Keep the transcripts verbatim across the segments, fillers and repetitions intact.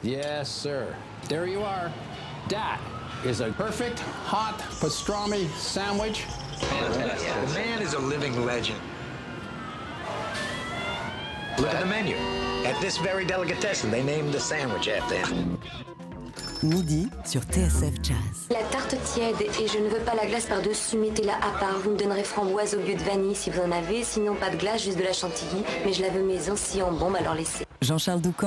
Yes, sir. There you are. That is a perfect hot pastrami sandwich. Fantastic. The man is a living legend. Look at the menu. At this very delicatessen, they named the sandwich after him. Midi sur T S F Jazz. La tarte tiède et je ne veux pas la glace par-dessus, mettez-la à part. Vous me donnerez framboise au lieu de vanille si vous en avez, sinon pas de glace, juste de la chantilly. Mais je la veux maison, si en bombe, alors laissez. Jean-Charles Doucan.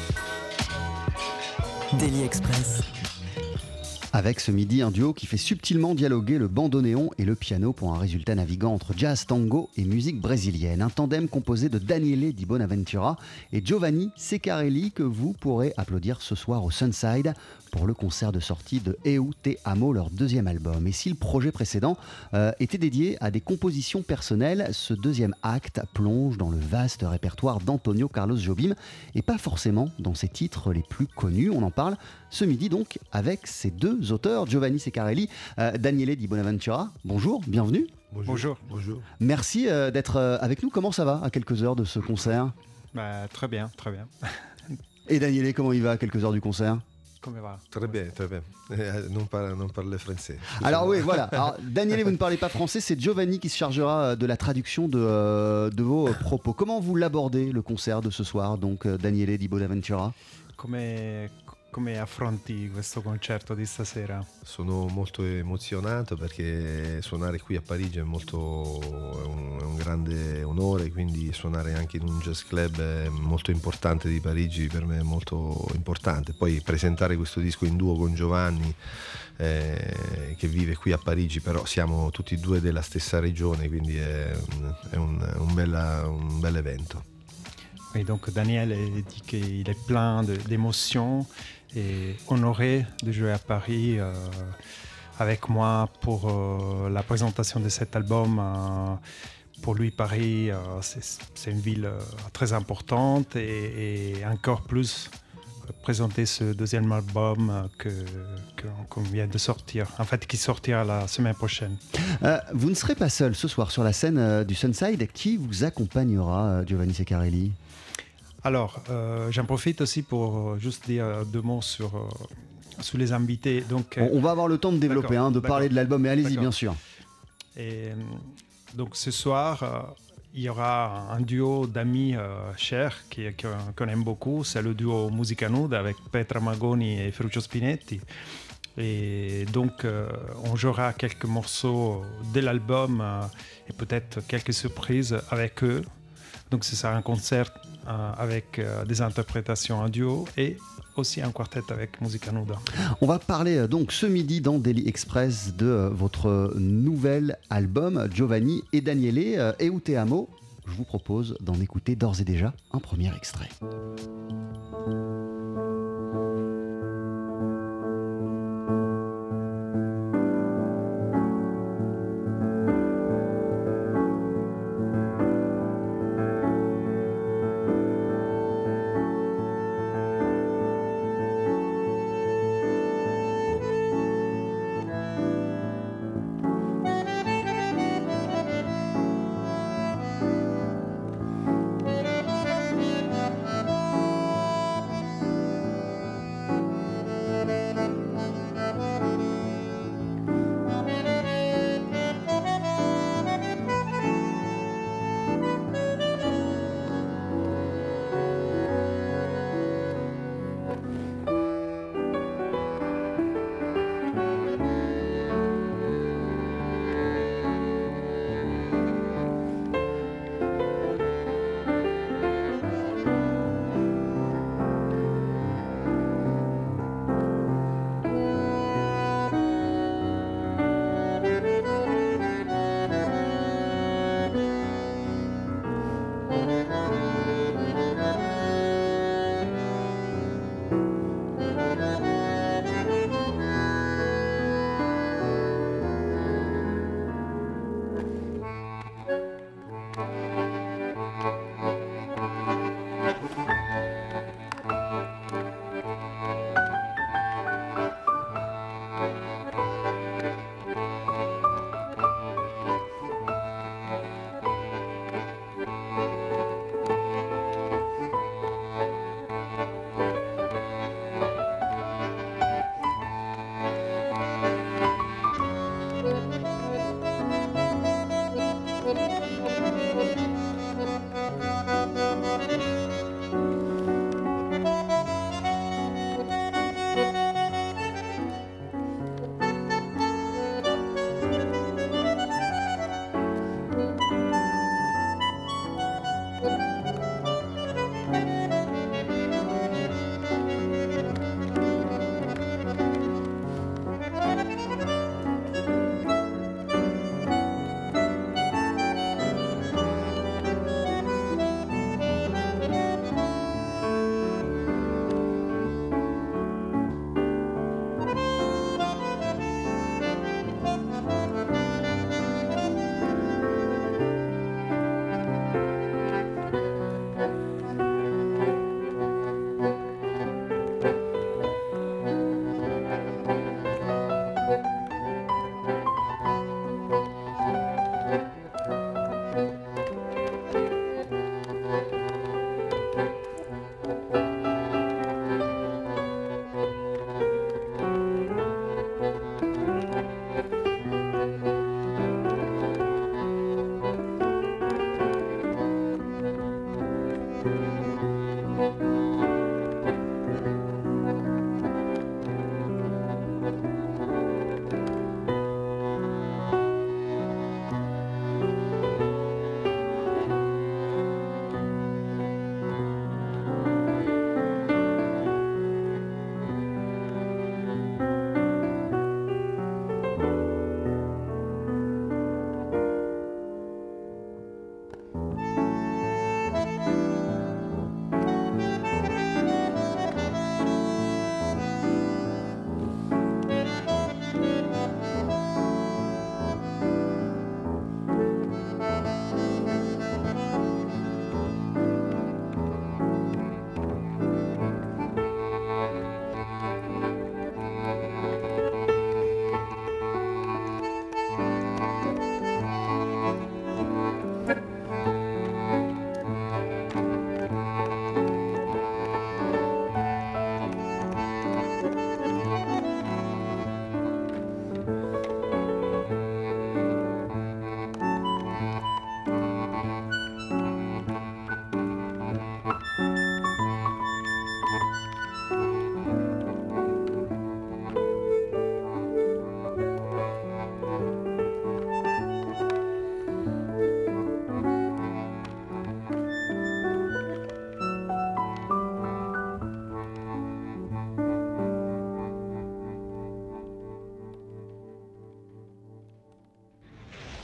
Daily Express. Avec ce midi, un duo qui fait subtilement dialoguer le bandoneon et le piano pour un résultat naviguant entre jazz, tango et musique brésilienne. Un tandem composé de Daniele Di Bonaventura et Giovanni Ceccarelli que vous pourrez applaudir ce soir au Sunside pour le concert de sortie de Eu Te Amo, leur deuxième album. Et si le projet précédent euh, était dédié à des compositions personnelles, ce deuxième acte plonge dans le vaste répertoire d'Antonio Carlos Jobim et pas forcément dans ses titres les plus connus. On en parle ce midi donc avec ces deux auteurs, Giovanni Ceccarelli, euh, Daniele Di Bonaventura. Bonjour, bienvenue. Bonjour. Bonjour. Merci euh, d'être euh, avec nous. Comment ça va à quelques heures de ce concert ? Bah, très bien, très bien. Et Daniele, comment il va à quelques heures du concert ? Comment va ? Très bien, très bien. Non, par, non parler français. Alors oui, voilà. Alors, Daniele, vous ne parlez pas français, c'est Giovanni qui se chargera de la traduction de, euh, de vos propos. Comment vous l'abordez, le concert de ce soir, donc Daniele Di Bonaventura ? Come, come affronti questo concerto di stasera? Sono molto emozionato perché suonare qui a Parigi è molto è un, è un grande onore, quindi suonare anche in un jazz club molto importante di Parigi per me è molto importante. Poi presentare questo disco in duo con Giovanni eh, che vive qui a Parigi, però siamo tutti e due della stessa regione, quindi è, è un, un, bella, un bel evento. Et donc Daniel dit qu'il est plein de, d'émotions et honoré de jouer à Paris euh, avec moi pour euh, la présentation de cet album. Euh, pour lui, Paris, euh, c'est, c'est une ville euh, très importante et, et encore plus euh, présenter ce deuxième album que, que, qu'on vient de sortir, en fait qui sortira la semaine prochaine. Euh, vous ne serez pas seul ce soir sur la scène euh, du Sunside. Qui vous accompagnera, euh, Giovanni Ceccarelli ? Alors, euh, j'en profite aussi pour euh, juste dire deux mots sur, euh, sur les invités. Donc, euh, on, on va avoir le temps de développer, hein, de d'accord. parler de l'album, mais allez-y, d'accord. bien sûr. Et donc, ce soir, euh, il y aura un duo d'amis euh, chers qui, qu'on aime beaucoup. C'est le duo Musica Nuda avec Petra Magoni et Ferruccio Spinetti. Et donc, euh, on jouera quelques morceaux de l'album euh, et peut-être quelques surprises avec eux. Donc, ce sera un concert euh, avec euh, des interprétations en duo et aussi un quartet avec Musica Nuda. On va parler euh, donc ce midi dans Daily Express de euh, votre nouvel album, Giovanni et Daniele, euh, Eu Te Amo. Je vous propose d'en écouter d'ores et déjà un premier extrait.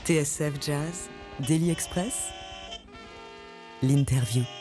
T S F Jazz, Daily Express, l'interview.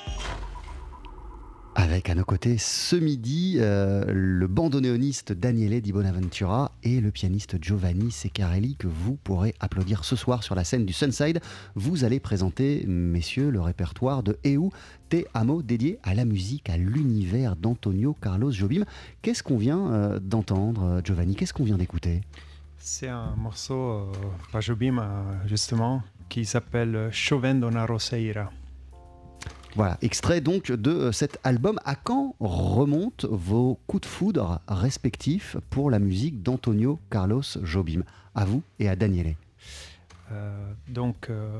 Avec à nos côtés ce midi euh, le bandoneoniste Daniele Di Bonaventura et le pianiste Giovanni Ceccarelli que vous pourrez applaudir ce soir sur la scène du Sunside. Vous allez présenter, messieurs, le répertoire de Eu Te Amo dédié à la musique, à l'univers d'Antonio Carlos Jobim. Qu'est-ce qu'on vient euh, d'entendre, Giovanni? Qu'est-ce qu'on vient d'écouter? C'est un morceau euh, par Jobim, euh, justement, qui s'appelle Chovendo na Roseira. Voilà, extrait donc de cet album. À quand remontent vos coups de foudre respectifs pour la musique d'Antonio Carlos Jobim? À vous et à Daniele. Euh, donc, euh,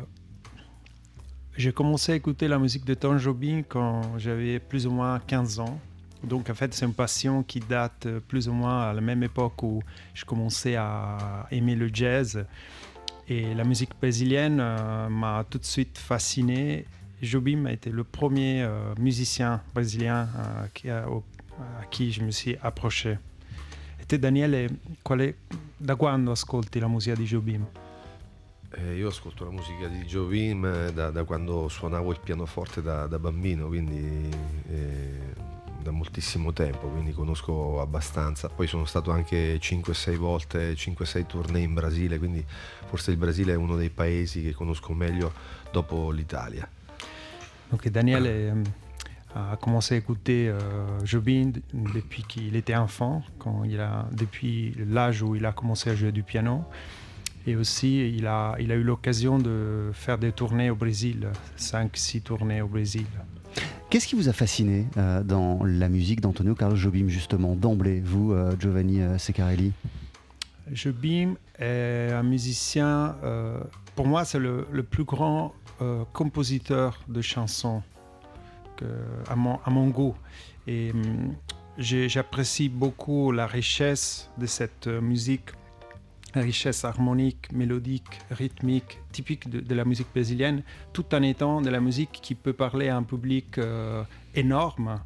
j'ai commencé à écouter la musique de Tom Jobim quand j'avais plus ou moins quinze ans. Donc, en fait, c'est une passion qui date plus ou moins à la même époque où je commençais à aimer le jazz. Et la musique brésilienne euh, m'a tout de suite fasciné. Jobim a été le premier euh, musicien brésilien euh, qui a, au, a qui je me suis approché. E te, Daniele, quale, da quando ascolti la musica di Jobim? Eh, io ascolto la musica di Jobim da, da quando suonavo il pianoforte da, da bambino, quindi eh, da moltissimo tempo, quindi conosco abbastanza. Poi sono stato anche cinque sei volte, cinque sei tournée in Brasile, quindi forse il Brasile è uno dei paesi che conosco meglio dopo l'Italia. Donc Daniel est, euh, a commencé à écouter euh, Jobim depuis qu'il était enfant, quand il a, depuis l'âge où il a commencé à jouer du piano. Et aussi, il a, il a eu l'occasion de faire des tournées au Brésil, cinq six tournées au Brésil. Qu'est-ce qui vous a fasciné euh, dans la musique d'Antonio Carlos Jobim, justement, d'emblée, vous, euh, Giovanni euh, Ceccarelli? Jobim est un musicien, euh, pour moi, c'est le, le plus grand Euh, compositeur de chansons que, à, mon, à mon goût. Et hum, j'apprécie beaucoup la richesse de cette euh, musique, la richesse harmonique, mélodique, rythmique, typique de, de la musique brésilienne, tout en étant de la musique qui peut parler à un public euh, énorme.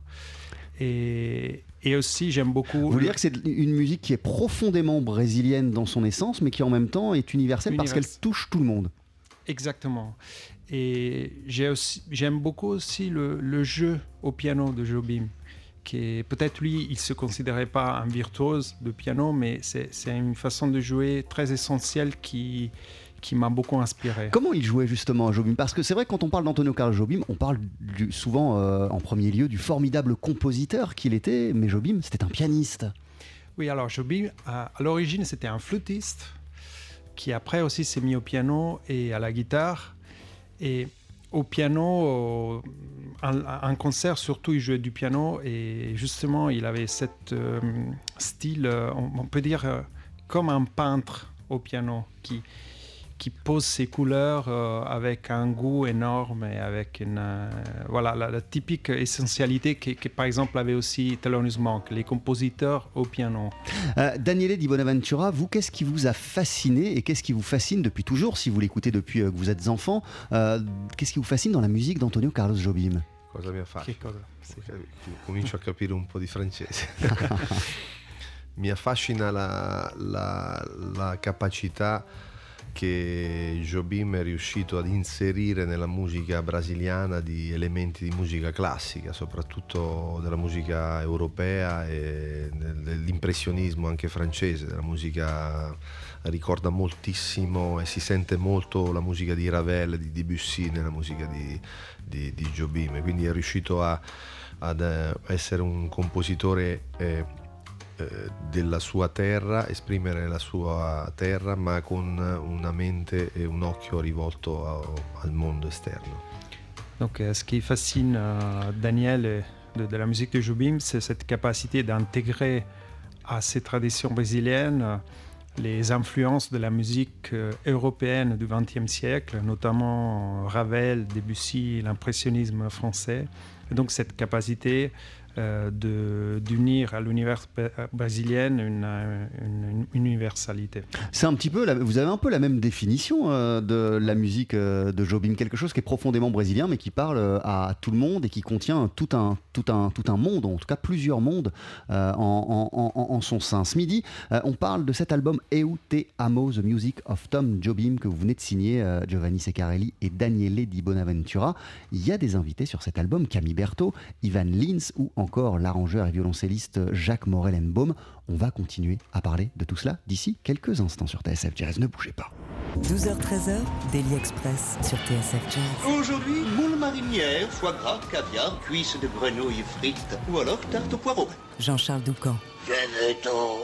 Et, et aussi, j'aime beaucoup... Vous voulez dire que c'est une musique qui est profondément brésilienne dans son essence, mais qui en même temps est universelle Univers. Parce qu'elle touche tout le monde. Exactement. Et j'ai aussi, j'aime beaucoup aussi le, le jeu au piano de Jobim, qui est, peut-être lui, il ne se considérait pas un virtuose de piano, mais c'est, c'est une façon de jouer très essentielle qui, qui m'a beaucoup inspiré. Comment il jouait justement Jobim? Parce que c'est vrai que quand on parle d'Antonio Carlos Jobim, on parle du, souvent euh, en premier lieu du formidable compositeur qu'il était, mais Jobim, c'était un pianiste. Oui, alors Jobim, à, à l'origine, c'était un flûtiste, qui après aussi s'est mis au piano et à la guitare. Et au piano, en concert surtout, il jouait du piano et justement, il avait ce euh, style, on, on peut dire, euh, comme un peintre au piano qui, qui pose ses couleurs euh, avec un goût énorme et avec une, euh, voilà, la, la typique essentialité que, que par exemple avait aussi Thelonious Monk, les compositeurs au piano. Euh, Daniele Di Bonaventura, vous, qu'est-ce qui vous a fasciné et qu'est-ce qui vous fascine depuis toujours, si vous l'écoutez depuis euh, que vous êtes enfant, euh, qu'est-ce qui vous fascine dans la musique d'Antonio Carlos Jobim? Cosa mi affascina? Che cosa? Sì. Comincio a capire un po' di francese. Mi affascina la, la, la capacità che Jobim è riuscito ad inserire nella musica brasiliana di elementi di musica classica, soprattutto della musica europea e dell'impressionismo anche francese, della musica ricorda moltissimo e si sente molto la musica di Ravel, di Debussy nella musica di, di, di Jobim, quindi è riuscito a, ad essere un compositore eh, della sua terra, esprimere la sua terra ma con una mente et un occhio rivolto a, al mondo esterno. Donc euh, ce qui fascine euh, Daniel de, de la musique de Jobim, c'est cette capacité d'intégrer à ces traditions brésiliennes euh, les influences de la musique euh, européenne du vingtième siècle, notamment Ravel, Debussy, l'impressionnisme français. Et donc cette capacité euh, de, d'unir à l'univers brésilien une, une, une universalité. C'est un petit peu, la, vous avez un peu la même définition euh, de la musique euh, de Jobim, quelque chose qui est profondément brésilien mais qui parle euh, à tout le monde et qui contient tout un, tout un, tout un monde, en tout cas plusieurs mondes euh, en, en, en, en son sein. Ce midi, euh, on parle de cet album Eu Te Amo, The Music of Tom Jobim que vous venez de signer, euh, Giovanni Ceccarelli et Daniele Di Bonaventura. Il y a des invités sur cet album, Camille Berthaud, Ivan Lins ou encore l'arrangeur et violoncelliste Jacques Morellenbaum. On va continuer à parler de tout cela d'ici quelques instants sur T S F Jazz. Ne bougez pas. douze heures treize heures, Daily Express sur T S F Jazz. Aujourd'hui, moule marinière, foie gras, caviar, cuisses de grenouille frites ou alors tarte au poireau. Jean-Charles Doucan. Venez-t'en.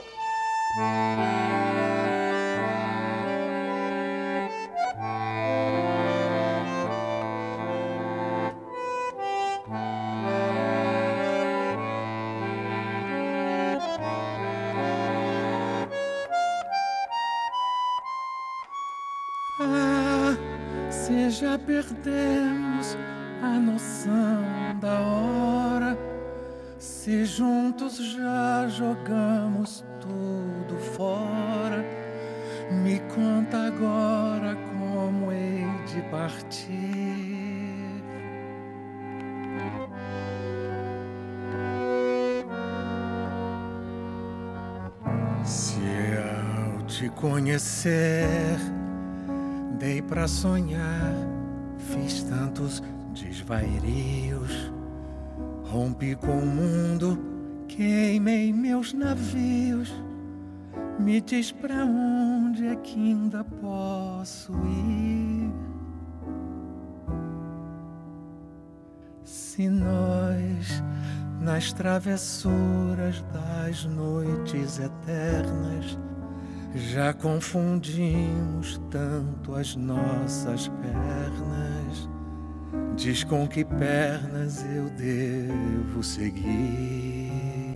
Se já perdemos a noção da hora, se juntos já jogamos tudo fora, me conta agora como hei de partir. Se ao te conhecer dei pra sonhar, fiz tantos desvairios, rompi com o mundo, queimei meus navios. Me diz pra onde é que ainda posso ir? Se nós, nas travessuras das noites eternas, já confundimos tanto as nossas pernas, diz com que pernas eu devo seguir.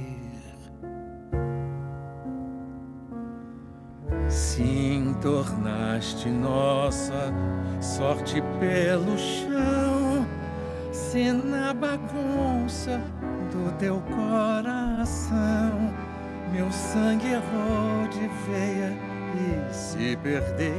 Sim, tornaste nossa sorte pelo chão, se na bagunça do teu coração meu sangue errou de veia e se perdeu.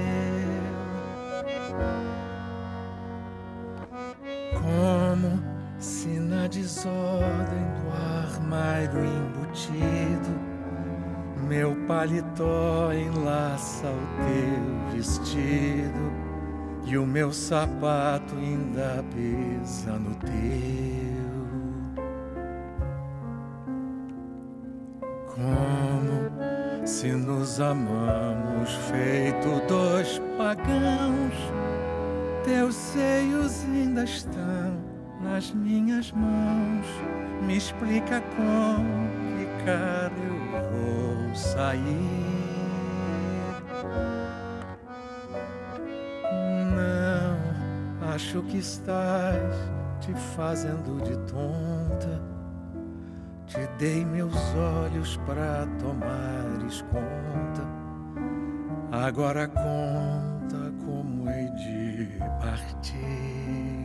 Como se na desordem do armário embutido meu paletó enlaça o teu vestido e o meu sapato ainda pisa no teu. Como se nos amamos feito dois pagãos, teus seios ainda estão nas minhas mãos. Me explica com que cara eu vou sair. Não, acho que estás te fazendo de tonta. Te dei meus olhos pra tomares conta. Agora conta como hei de partir.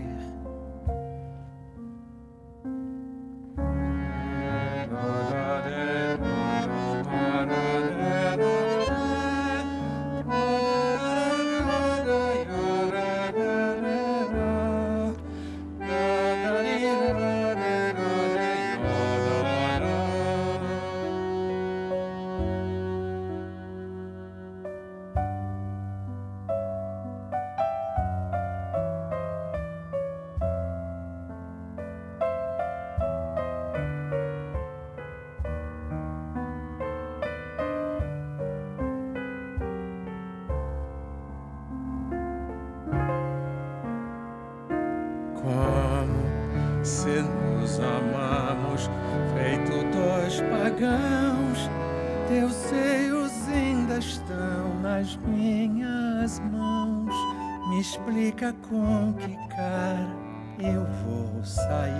Como se nos amamos feito dois pagãos, teus seios ainda estão nas minhas mãos. Me explica com que cara eu vou sair.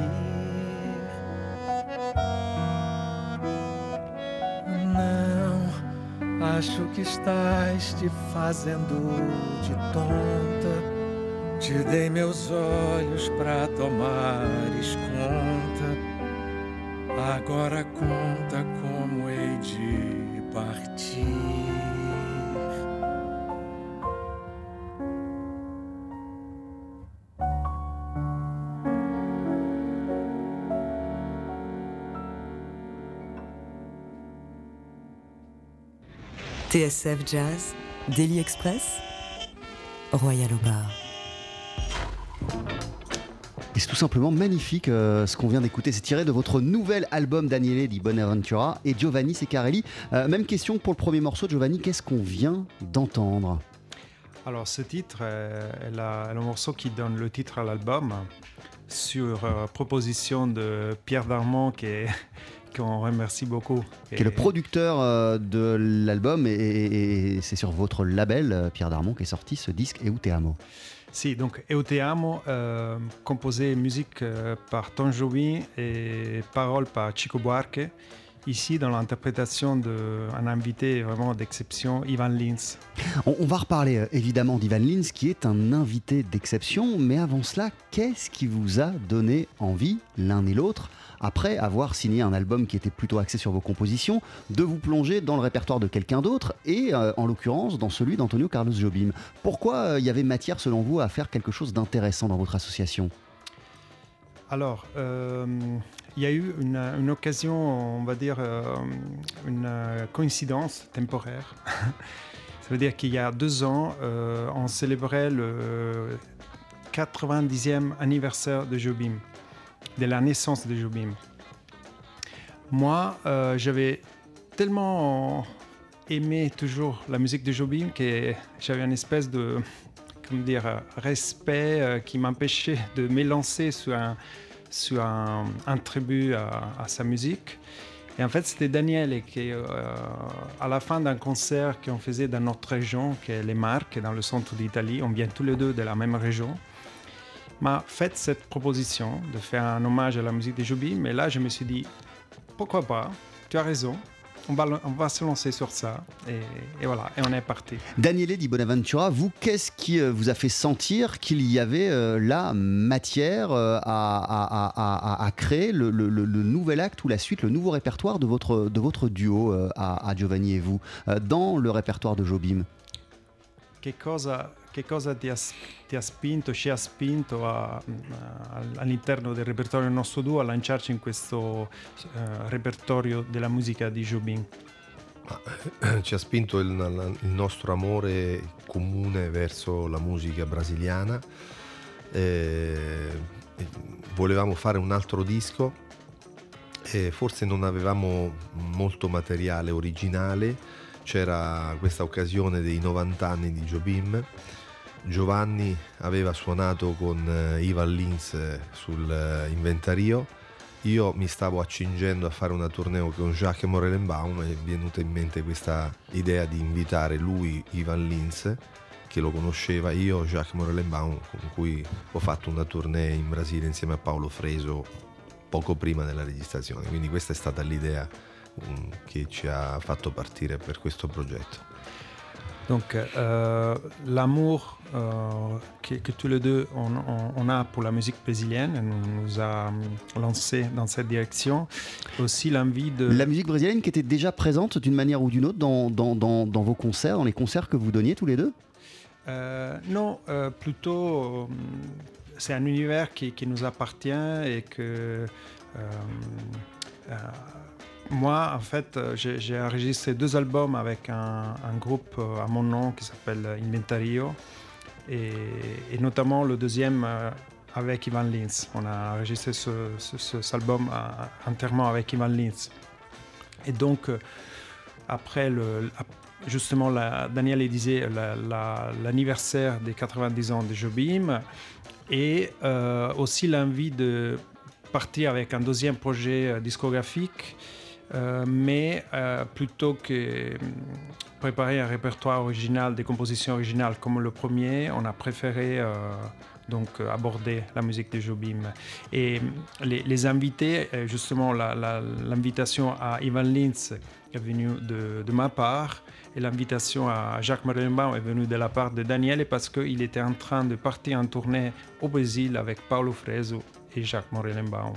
Não, acho que estás te fazendo de tonta. Te dei meus olhos pra tomares conta. Agora conta como hei de partir. T S F Jazz, Daily Express, Royal au bar. Et c'est tout simplement magnifique euh, ce qu'on vient d'écouter. C'est tiré de votre nouvel album Daniele di Bonaventura et Giovanni Ceccarelli. Euh, même question pour le premier morceau, Giovanni. Qu'est-ce qu'on vient d'entendre ? Alors, ce titre euh, est, la, est le morceau qui donne le titre à l'album, sur euh, proposition de Pierre Darmon, qui est, qu'on remercie beaucoup. Qui est le producteur euh, de l'album, et, et, et c'est sur votre label, euh, Pierre Darmon, qui est sorti ce disque Eu te amo. Si, donc Eu te amo, euh, composé musique euh, par Tom Jobim et paroles par Chico Buarque. Ici, dans l'interprétation d'un invité vraiment d'exception, Ivan Lins. On, on va reparler euh, évidemment d'Ivan Lins, qui est un invité d'exception, mais avant cela, qu'est-ce qui vous a donné envie, l'un et l'autre, après avoir signé un album qui était plutôt axé sur vos compositions, de vous plonger dans le répertoire de quelqu'un d'autre, et euh, en l'occurrence dans celui d'Antonio Carlos Jobim ? Pourquoi il euh, y avait matière, selon vous, à faire quelque chose d'intéressant dans votre association ? Alors, euh, il y a eu une, une occasion, on va dire, euh, une coïncidence temporaire. Ça veut dire qu'il y a deux ans, euh, on célébrait le quatre-vingt-dixième anniversaire de Jobim, de la naissance de Jobim. Moi, euh, j'avais tellement aimé toujours la musique de Jobim que j'avais une espèce de... dire, respect euh, qui m'empêchait de m'élancer sur un, sur un, un tribut à, à sa musique. Et en fait, c'était Daniele qui, euh, à la fin d'un concert qu'on faisait dans notre région, qui est les Marques, dans le centre d'Italie, on vient tous les deux de la même région, m'a fait cette proposition de faire un hommage à la musique de Jobim. Mais là, je me suis dit, pourquoi pas, tu as raison. On va, on va se lancer sur ça et, et voilà, et on est parti. Daniele di Bonaventura, vous, qu'est-ce qui vous a fait sentir qu'il y avait euh, la matière euh, à, à, à, à créer le, le, le nouvel acte ou la suite, le nouveau répertoire de votre, de votre duo euh, à, à Giovanni et vous, euh, dans le répertoire de Jobim ? Che cosa, che cosa ti, ha, ti ha spinto, ci ha spinto a, a, all'interno del repertorio del nostro duo a lanciarci in questo uh, repertorio della musica di Jobim? Ci ha spinto il, il nostro amore comune verso la musica brasiliana. E, e volevamo fare un altro disco e forse non avevamo molto materiale originale. C'era questa occasione dei novanta anni di Jobim. Giovanni aveva suonato con Ivan Lins sul Inventario. Io mi stavo accingendo a fare una tournée con Jacques Morelenbaum e è venuta in mente questa idea di invitare lui, Ivan Lins, che lo conosceva, io, Jacques Morelenbaum, con cui ho fatto una tournée in Brasile insieme a Paolo Freso poco prima della registrazione. Quindi questa è stata l'idea che ci ha fatto partire per questo progetto. Donc euh, l'amour euh, que, que tous les deux on, on, on a pour la musique brésilienne nous, nous a lancé dans cette direction. Aussi l'envie de... La musique brésilienne qui était déjà présente d'une manière ou d'une autre dans, dans, dans, dans vos concerts, dans les concerts que vous donniez tous les deux ? euh, Non, euh, plutôt euh, c'est un univers qui, qui nous appartient et que... Euh, euh, Moi, en fait, j'ai, j'ai enregistré deux albums avec un, un groupe à mon nom qui s'appelle Inventario et, et notamment le deuxième avec Ivan Lins. On a enregistré ce, ce, cet album entièrement avec Ivan Lins. Et donc, après, le, justement, la, Daniele disait la, la, l'anniversaire des quatre-vingt-dix ans de Jobim et euh, aussi l'envie de partir avec un deuxième projet discographique. Euh, mais euh, plutôt que préparer un répertoire original, des compositions originales comme le premier, on a préféré euh, donc aborder la musique de Jobim. Et les, les invités, justement la, la, l'invitation à Ivan Lins est venue de, de ma part et l'invitation à Jacques Morelenbaum est venue de la part de Daniele parce qu'il était en train de partir en tournée au Brésil avec Paolo Freso et Jacques Morelenbaum.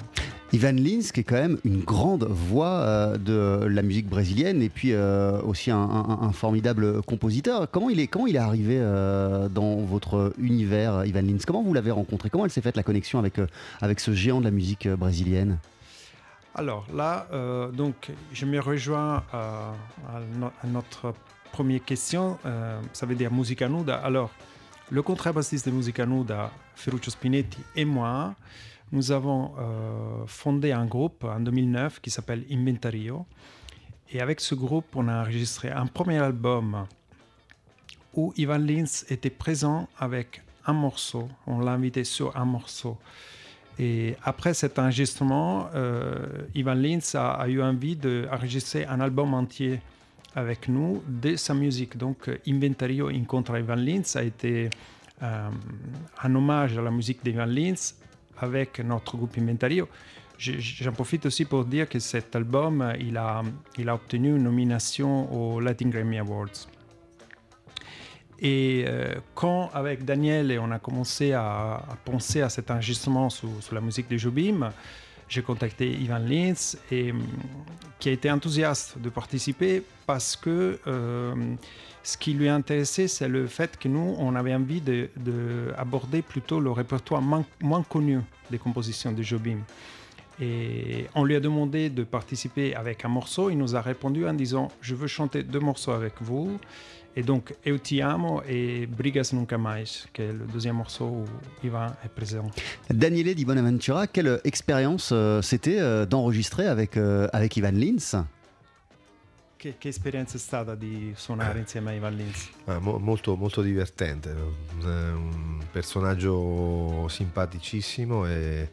Ivan Lins, qui est quand même une grande voix euh, de la musique brésilienne et puis euh, aussi un, un, un formidable compositeur. Comment il est, comment il est arrivé euh, dans votre univers, Ivan Lins? Comment vous l'avez rencontré? Comment elle s'est faite la connexion avec, euh, avec ce géant de la musique brésilienne? Alors là, euh, donc, je me rejoins à, à, no, à notre première question, euh, ça veut dire Musica Nuda. Alors, le contrebassiste de Musica Nuda, Ferruccio Spinetti, et moi, nous avons euh, fondé un groupe en deux mille neuf qui s'appelle Inventario. Et avec ce groupe, on a enregistré un premier album où Ivan Lins était présent avec un morceau. On l'a invité sur un morceau. Et après cet enregistrement, euh, Ivan Lins a, a eu envie d'enregistrer un album entier avec nous de sa musique. Donc, Inventario Incontra Ivan Lins a été euh, un hommage à la musique d'Ivan Lins avec notre groupe Inventario. J'en profite aussi pour dire que cet album, il a, il a obtenu une nomination aux Latin Grammy Awards. Et euh, quand, avec Daniel, on a commencé à, à penser à cet enregistrement sur, sur la musique de Jobim, j'ai contacté Ivan Lins, et, qui a été enthousiaste de participer parce que euh, ce qui lui intéressait, c'est le fait que nous, on avait envie d'aborder plutôt le répertoire moins, moins connu des compositions de Jobim. Et on lui a demandé de participer avec un morceau. Il nous a répondu en disant « Je veux chanter deux morceaux avec vous ». Et donc, Eu Ti Amo et Brigas Nunca Mais, qui est le deuxième morceau où Ivan est présent. Daniele Di Bonaventura, quelle expérience euh, c'était euh, d'enregistrer avec, euh, avec Ivan Lins? Che, che esperienza è stata di suonare insieme a Ivan Lins? Ah, mo- molto, molto divertente, un personaggio simpaticissimo e,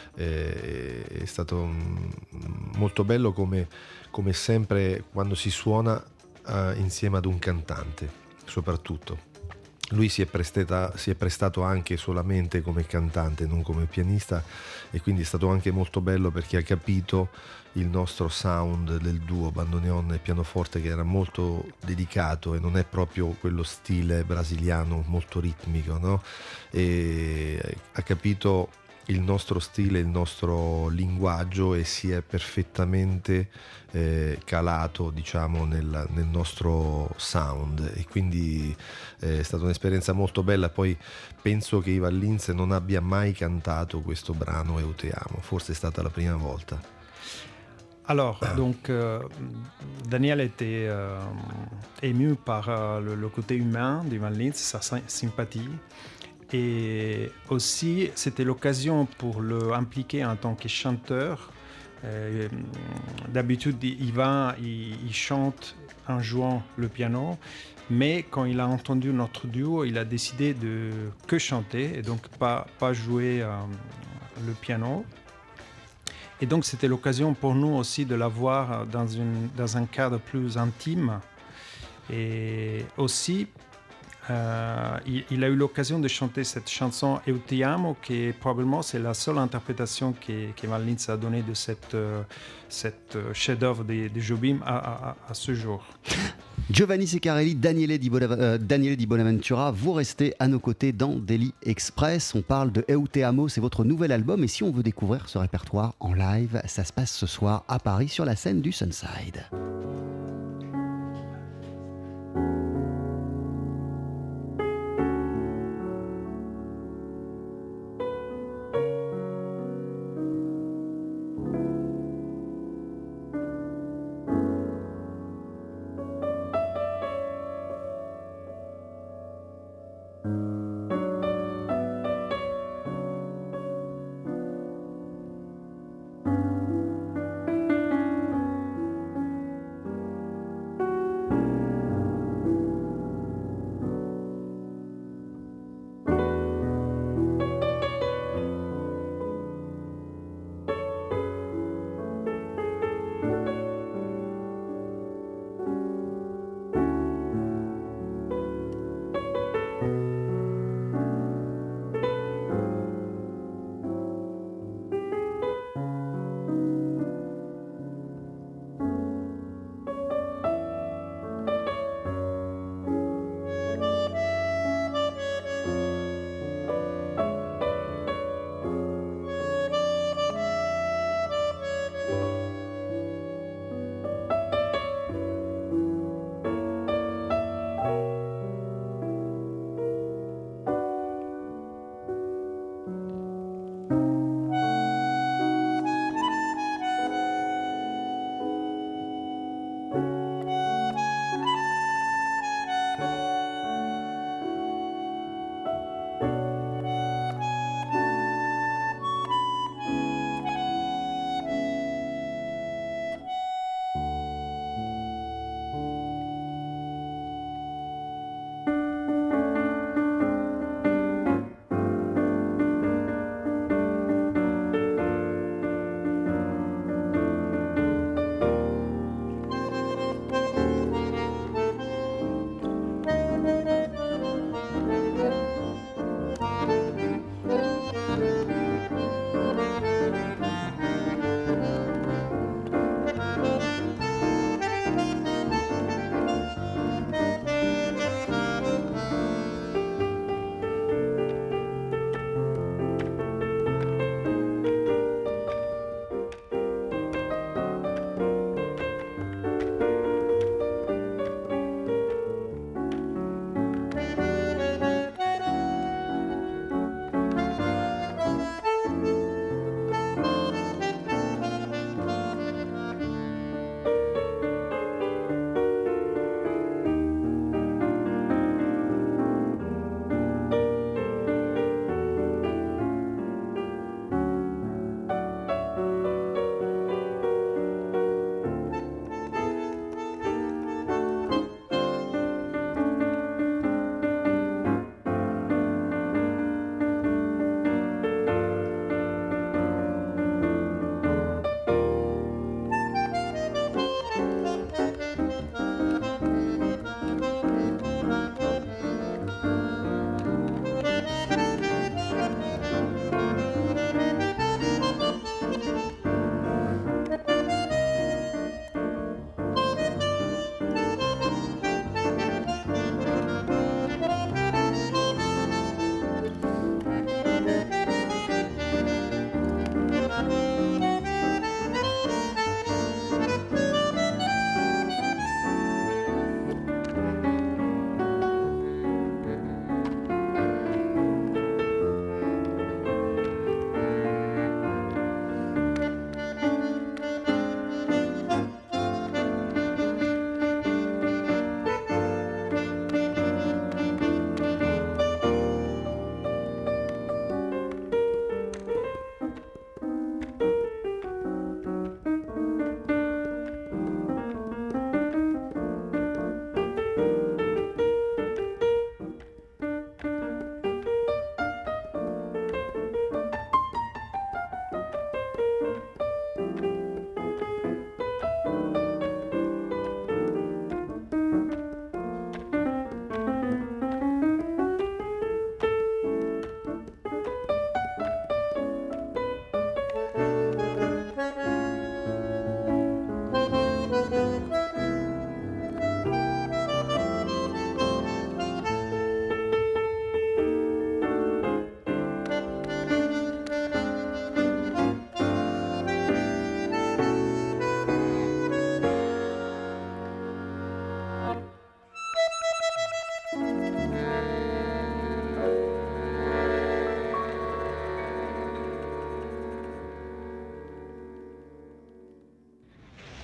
e è stato molto bello come, come sempre quando si suona Uh, insieme ad un cantante, soprattutto. Lui si è, prestata, si è prestato anche solamente come cantante, non come pianista, e quindi è stato anche molto bello perché ha capito il nostro sound del duo bandoneon e pianoforte, che era molto dedicato e non è proprio quello stile brasiliano molto ritmico, no? E ha capito il nostro stile, il nostro linguaggio, e si è perfettamente eh, calato, diciamo, nel, nel nostro sound, e quindi eh, è stata un'esperienza molto bella. Poi penso che Ivan Lins non abbia mai cantato questo brano Eu Te Amo, forse è stata la prima volta. Alors, donc, euh, Daniel était euh, ému par euh, le, le côté humain d'Ivan Lins, sa sympathie. Et aussi, c'était l'occasion pour le impliquer en tant que chanteur. Euh, d'habitude, Ivan, il, il chante en jouant le piano, mais quand il a entendu notre duo, il a décidé de que chanter et donc pas, pas jouer euh, le piano. Et donc, c'était l'occasion pour nous aussi de l'avoir dans, une, dans un cadre plus intime. Et aussi, Euh, il, il a eu l'occasion de chanter cette chanson Eu Ti Amo, qui est probablement c'est la seule interprétation qu'Ivan Lins a donnée de cette, euh, cette chef-d'œuvre de, de Jobim à, à, à ce jour. Giovanni Ceccarelli, Daniele Di, Bonav- euh, Daniele Di Bonaventura, vous restez à nos côtés dans Daily Express. On parle de Eu Te Amo, c'est votre nouvel album, et si on veut découvrir ce répertoire en live, ça se passe ce soir à Paris sur la scène du Sunside.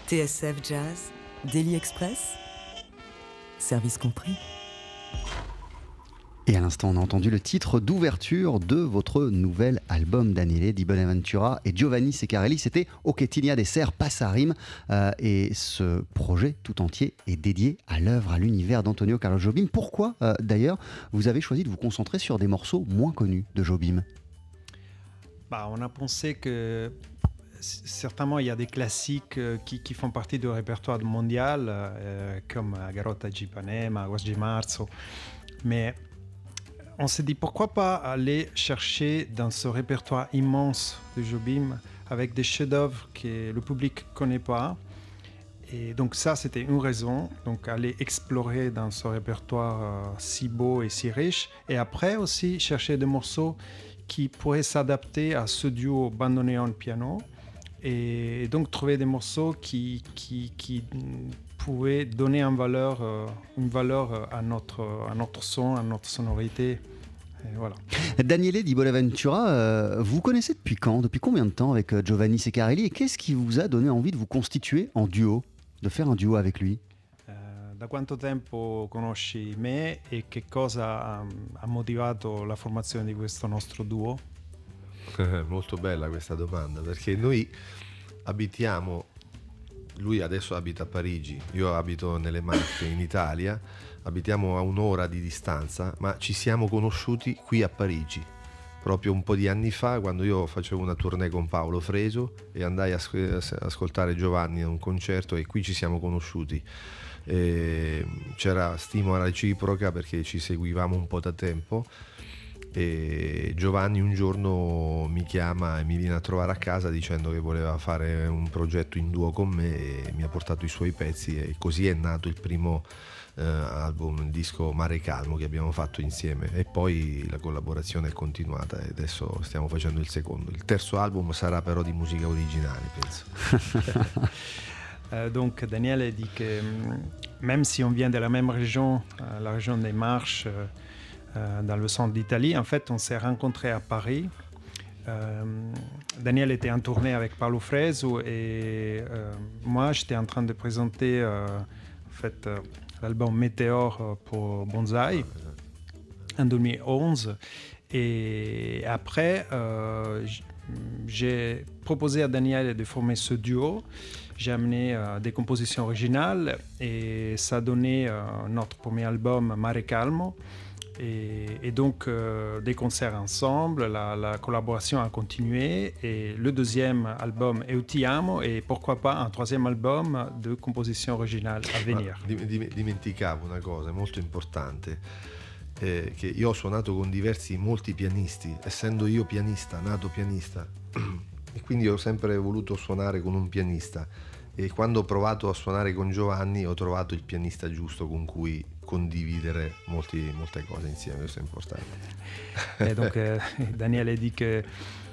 T S F Jazz, Daily Express, service compris. Et à l'instant, on a entendu le titre d'ouverture de votre nouvel album, Daniele Di Bonaventura et Giovanni Ceccarelli. C'était O che ti des serres passe à rime. Euh, et ce projet tout entier est dédié à l'œuvre, à l'univers d'Antonio Carlos Jobim. Pourquoi, euh, d'ailleurs, vous avez choisi de vous concentrer sur des morceaux moins connus de Jobim? Bah, on a pensé que certainement il y a des classiques euh, qui, qui font partie du répertoire mondial, euh, comme Garota di Ipanema, Agosto di Marzo. Mais on s'est dit pourquoi pas aller chercher dans ce répertoire immense de Jobim avec des chefs-d'œuvre que le public ne connaît pas. Et donc ça, c'était une raison, donc aller explorer dans ce répertoire euh, si beau et si riche. Et après aussi chercher des morceaux qui pourraient s'adapter à ce duo bandoneon-piano. Et donc trouver des morceaux qui, qui, qui pouvaient donner une valeur, euh, une valeur à, notre, à notre son, à notre sonorité. Et voilà. Daniele Di Bonaventura, euh, vous connaissez depuis quand, depuis combien de temps avec Giovanni Ceccarelli, et qu'est-ce qui vous a donné envie de vous constituer en duo, de faire un duo avec lui? Uh, da quanto tempo conosci me e che cosa ha, ha motivato la formazione di questo nostro duo? Molto bella questa domanda, perché noi abitiamo, lui adesso abita a Parigi, io abito nelle Marche in Italia, abitiamo a un'ora di distanza, ma ci siamo conosciuti qui a Parigi, proprio un po' di anni fa, quando io facevo una tournée con Paolo Fresu e andai a as- ascoltare Giovanni a un concerto, e qui ci siamo conosciuti. E c'era stima reciproca perché ci seguivamo un po' da tempo, e Giovanni un giorno mi chiama e mi viene a trovare a casa dicendo che voleva fare un progetto in duo con me, e mi ha portato i suoi pezzi, e così è nato il primo eh, album, il disco Mare Calmo, che abbiamo fatto insieme, e poi la collaborazione è continuata e adesso stiamo facendo il secondo. Il terzo album sarà però di musica originale, penso. Euh, donc Daniele dit que même si on vient de la même région, euh, la région des Marches, euh, euh, dans le centre d'Italie, en fait on s'est rencontrés à Paris. Euh, Daniele était en tournée avec Paolo Fresu et euh, moi j'étais en train de présenter euh, en fait, euh, l'album Météore pour Bonzai en deux mille onze. Et après euh, j'ai proposé à Daniele de former ce duo. J'ai amené euh, des compositions originales et ça a donné euh, notre premier album Mare Calmo. Et, et donc euh, des concerts ensemble, la, la collaboration a continué, et le deuxième album Eu Ti Amo, et pourquoi pas un troisième album de composition originale à venir. Ma dimenticavo una cosa molto importante, eh, che io ho suonato con diversi, molti pianisti, essendo io pianista, nato pianista, e quindi ho sempre voluto suonare con un pianista, e quando ho provato a suonare con Giovanni ho trovato il pianista giusto con cui condividere molti, molte cose insieme, questo è importante. Et donc euh, Daniele dit qu'il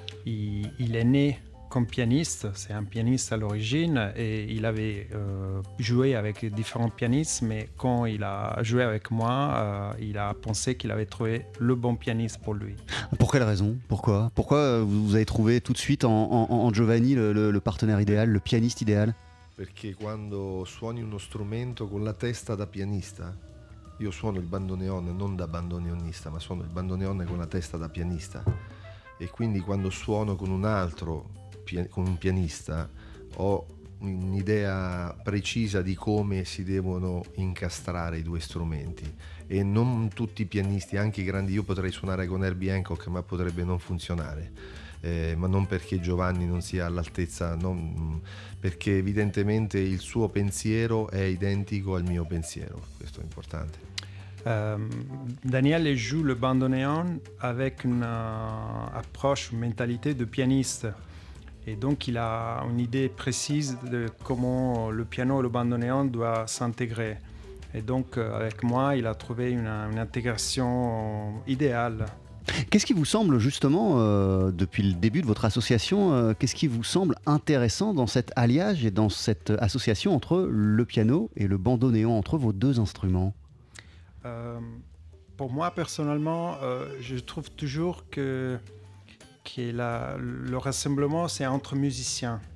il est né comme pianiste, c'est un pianiste à l'origine, et il avait euh, joué avec différents pianistes, mais quand il a joué avec moi, euh, il a pensé qu'il avait trouvé le bon pianiste pour lui. Pour quelle raison? Pourquoi Pourquoi vous avez trouvé tout de suite en, en, en Giovanni le, le, le partenaire idéal, le pianiste idéal? Perché quando suoni uno strumento con la testa da pianista, io suono il bandoneon non da bandoneonista, ma suono il bandoneon con la testa da pianista, e quindi quando suono con un altro, con un pianista, ho un'idea precisa di come si devono incastrare i due strumenti, e non tutti i pianisti, anche i grandi, io potrei suonare con Herbie Hancock ma potrebbe non funzionare. Eh, ma non perché Giovanni non sia all'altezza, non, perché evidentemente il suo pensiero è identico al mio pensiero, questo è importante. Euh, Daniele joue le bandoneon avec une euh, approche, une mentalité de pianiste. Et donc il a une idée précise de comment le piano et le bandoneon doivent s'intégrer. Et donc euh, avec moi, il a trouvé une, une intégration idéale. Qu'est-ce qui vous semble justement, euh, depuis le début de votre association, euh, qu'est-ce qui vous semble intéressant dans cet alliage et dans cette association entre le piano et le bandoneon, entre vos deux instruments? euh, Pour moi, personnellement, euh, je trouve toujours que, que la, le rassemblement, c'est entre musiciens.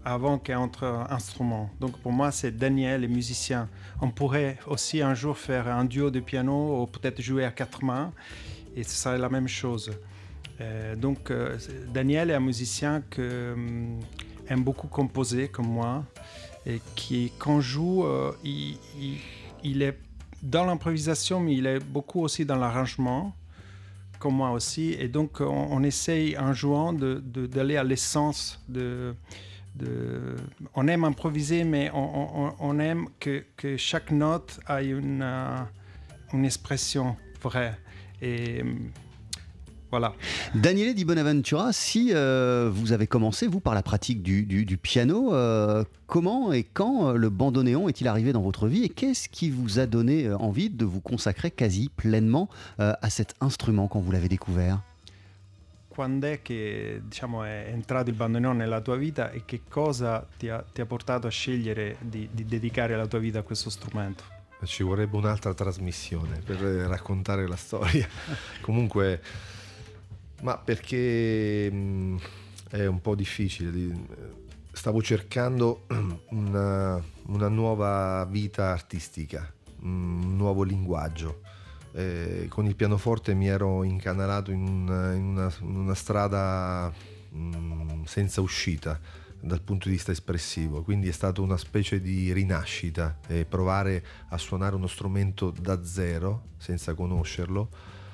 avant qu'entre instruments. Donc pour moi, c'est Daniel et musicien. On pourrait aussi un jour faire un duo de piano ou peut-être jouer à quatre mains et ce serait la même chose. Euh, donc euh, Daniel est un musicien qui euh, aime beaucoup composer comme moi et qui, quand joue, euh, il, il, il est dans l'improvisation, mais il est beaucoup aussi dans l'arrangement, comme moi aussi. Et donc on, on essaye en jouant de, de, d'aller à l'essence de... De, on aime improviser, mais on, on, on aime que, que chaque note ait une, uh, une expression vraie. Et voilà. Daniele Di Bonaventura, si euh, vous avez commencé, vous, par la pratique du, du, du piano, euh, comment et quand le bandoneon est-il arrivé dans votre vie et qu'est-ce qui vous a donné envie de vous consacrer quasi pleinement euh, à cet instrument quand vous l'avez découvert ? Quando è che diciamo, è entrato il bandoneon nella tua vita e che cosa ti ha, ti ha portato a scegliere di, di dedicare la tua vita a questo strumento? Ci vorrebbe un'altra trasmissione per raccontare la storia. Comunque, ma perché mh, è un po' difficile. Stavo cercando una, una nuova vita artistica, un nuovo linguaggio. Eh, con il pianoforte mi ero incanalato in una, in una, in una strada mh, senza uscita dal punto di vista espressivo, quindi è stata una specie di rinascita, eh, provare a suonare uno strumento da zero senza conoscerlo,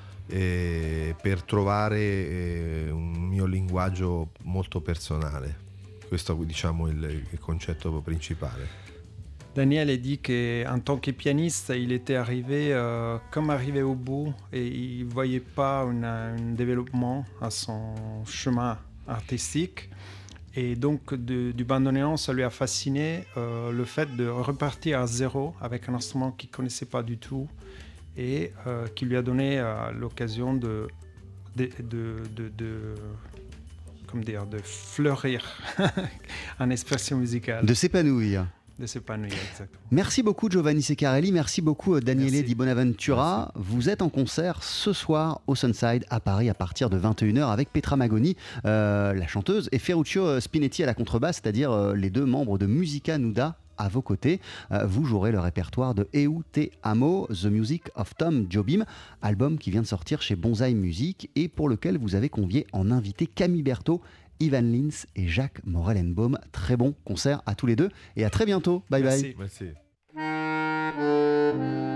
eh, per trovare eh, un mio linguaggio molto personale. Questo è, diciamo, il, il concetto principale. Daniel dit qu'en tant que pianiste, il était arrivé euh, comme arrivé au bout et il ne voyait pas un développement à son chemin artistique. Et donc de, du bandoneon, ça lui a fasciné euh, le fait de repartir à zéro avec un instrument qu'il ne connaissait pas du tout et euh, qui lui a donné euh, l'occasion de, de, de, de, de, comment dire, de fleurir en expression musicale. De s'épanouir. De s'épanouir, exactement. Merci beaucoup Giovanni Ceccarelli, merci beaucoup Daniele Merci. Di Bonaventura. Merci. Vous êtes en concert ce soir au Sunside à Paris à partir de vingt et une heures avec Petra Magoni, euh, la chanteuse, et Ferruccio Spinetti à la contrebasse, c'est-à-dire euh, les deux membres de Musica Nuda à vos côtés. Euh, vous jouerez le répertoire de Eu Te Amo, The Music of Tom Jobim, album qui vient de sortir chez Bonsaï Music et pour lequel vous avez convié en invité Camille Berthaud, Ivan Lins et Jacques Morellenbaum. Très bon concert à tous les deux et à très bientôt. Bye Merci. bye. Merci.